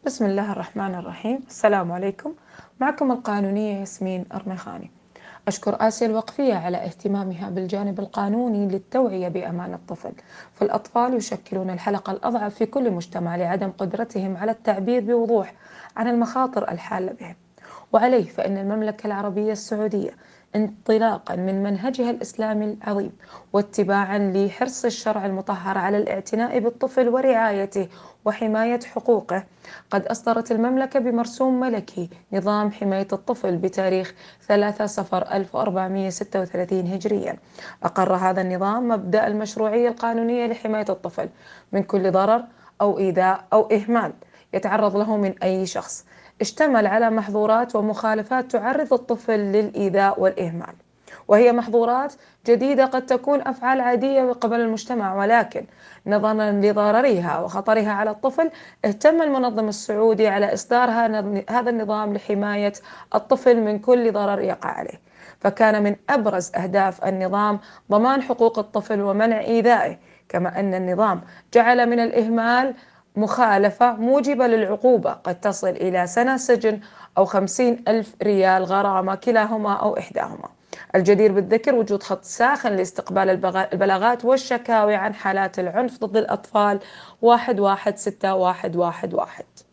بسم الله الرحمن الرحيم. السلام عليكم. معكم القانونية ياسمين أرمخاني. أشكر آسيا الوقفية على اهتمامها بالجانب القانوني للتوعية بأمان الطفل، فالأطفال يشكلون الحلقة الأضعف في كل مجتمع لعدم قدرتهم على التعبير بوضوح عن المخاطر الحالة بهم. وعليه فإن المملكة العربية السعودية انطلاقا من منهجها الإسلامي العظيم واتباعا لحرص الشرع المطهر على الاعتناء بالطفل ورعايته وحماية حقوقه، قد أصدرت المملكة بمرسوم ملكي نظام حماية الطفل بتاريخ 3 صفر 1436 هجريا. أقر هذا النظام مبدأ المشروعية القانونية لحماية الطفل من كل ضرر أو إيذاء أو إهمال يتعرض له من أي شخص، اشتمل على محظورات ومخالفات تعرض الطفل للإيذاء والإهمال، وهي محظورات جديدة قد تكون أفعال عادية قبل المجتمع، ولكن نظرا لضررها وخطرها على الطفل اهتم المنظم السعودي على إصدار هذا النظام لحماية الطفل من كل ضرر يقع عليه. فكان من أبرز أهداف النظام ضمان حقوق الطفل ومنع إيذائه، كما أن النظام جعل من الإهمال مخالفة موجبة للعقوبة قد تصل إلى سنة سجن أو 50,000 ريال غرامة كلاهما أو إحداهما. الجدير بالذكر وجود خط ساخن لاستقبال البلاغات والشكاوي عن حالات العنف ضد الأطفال 116 111.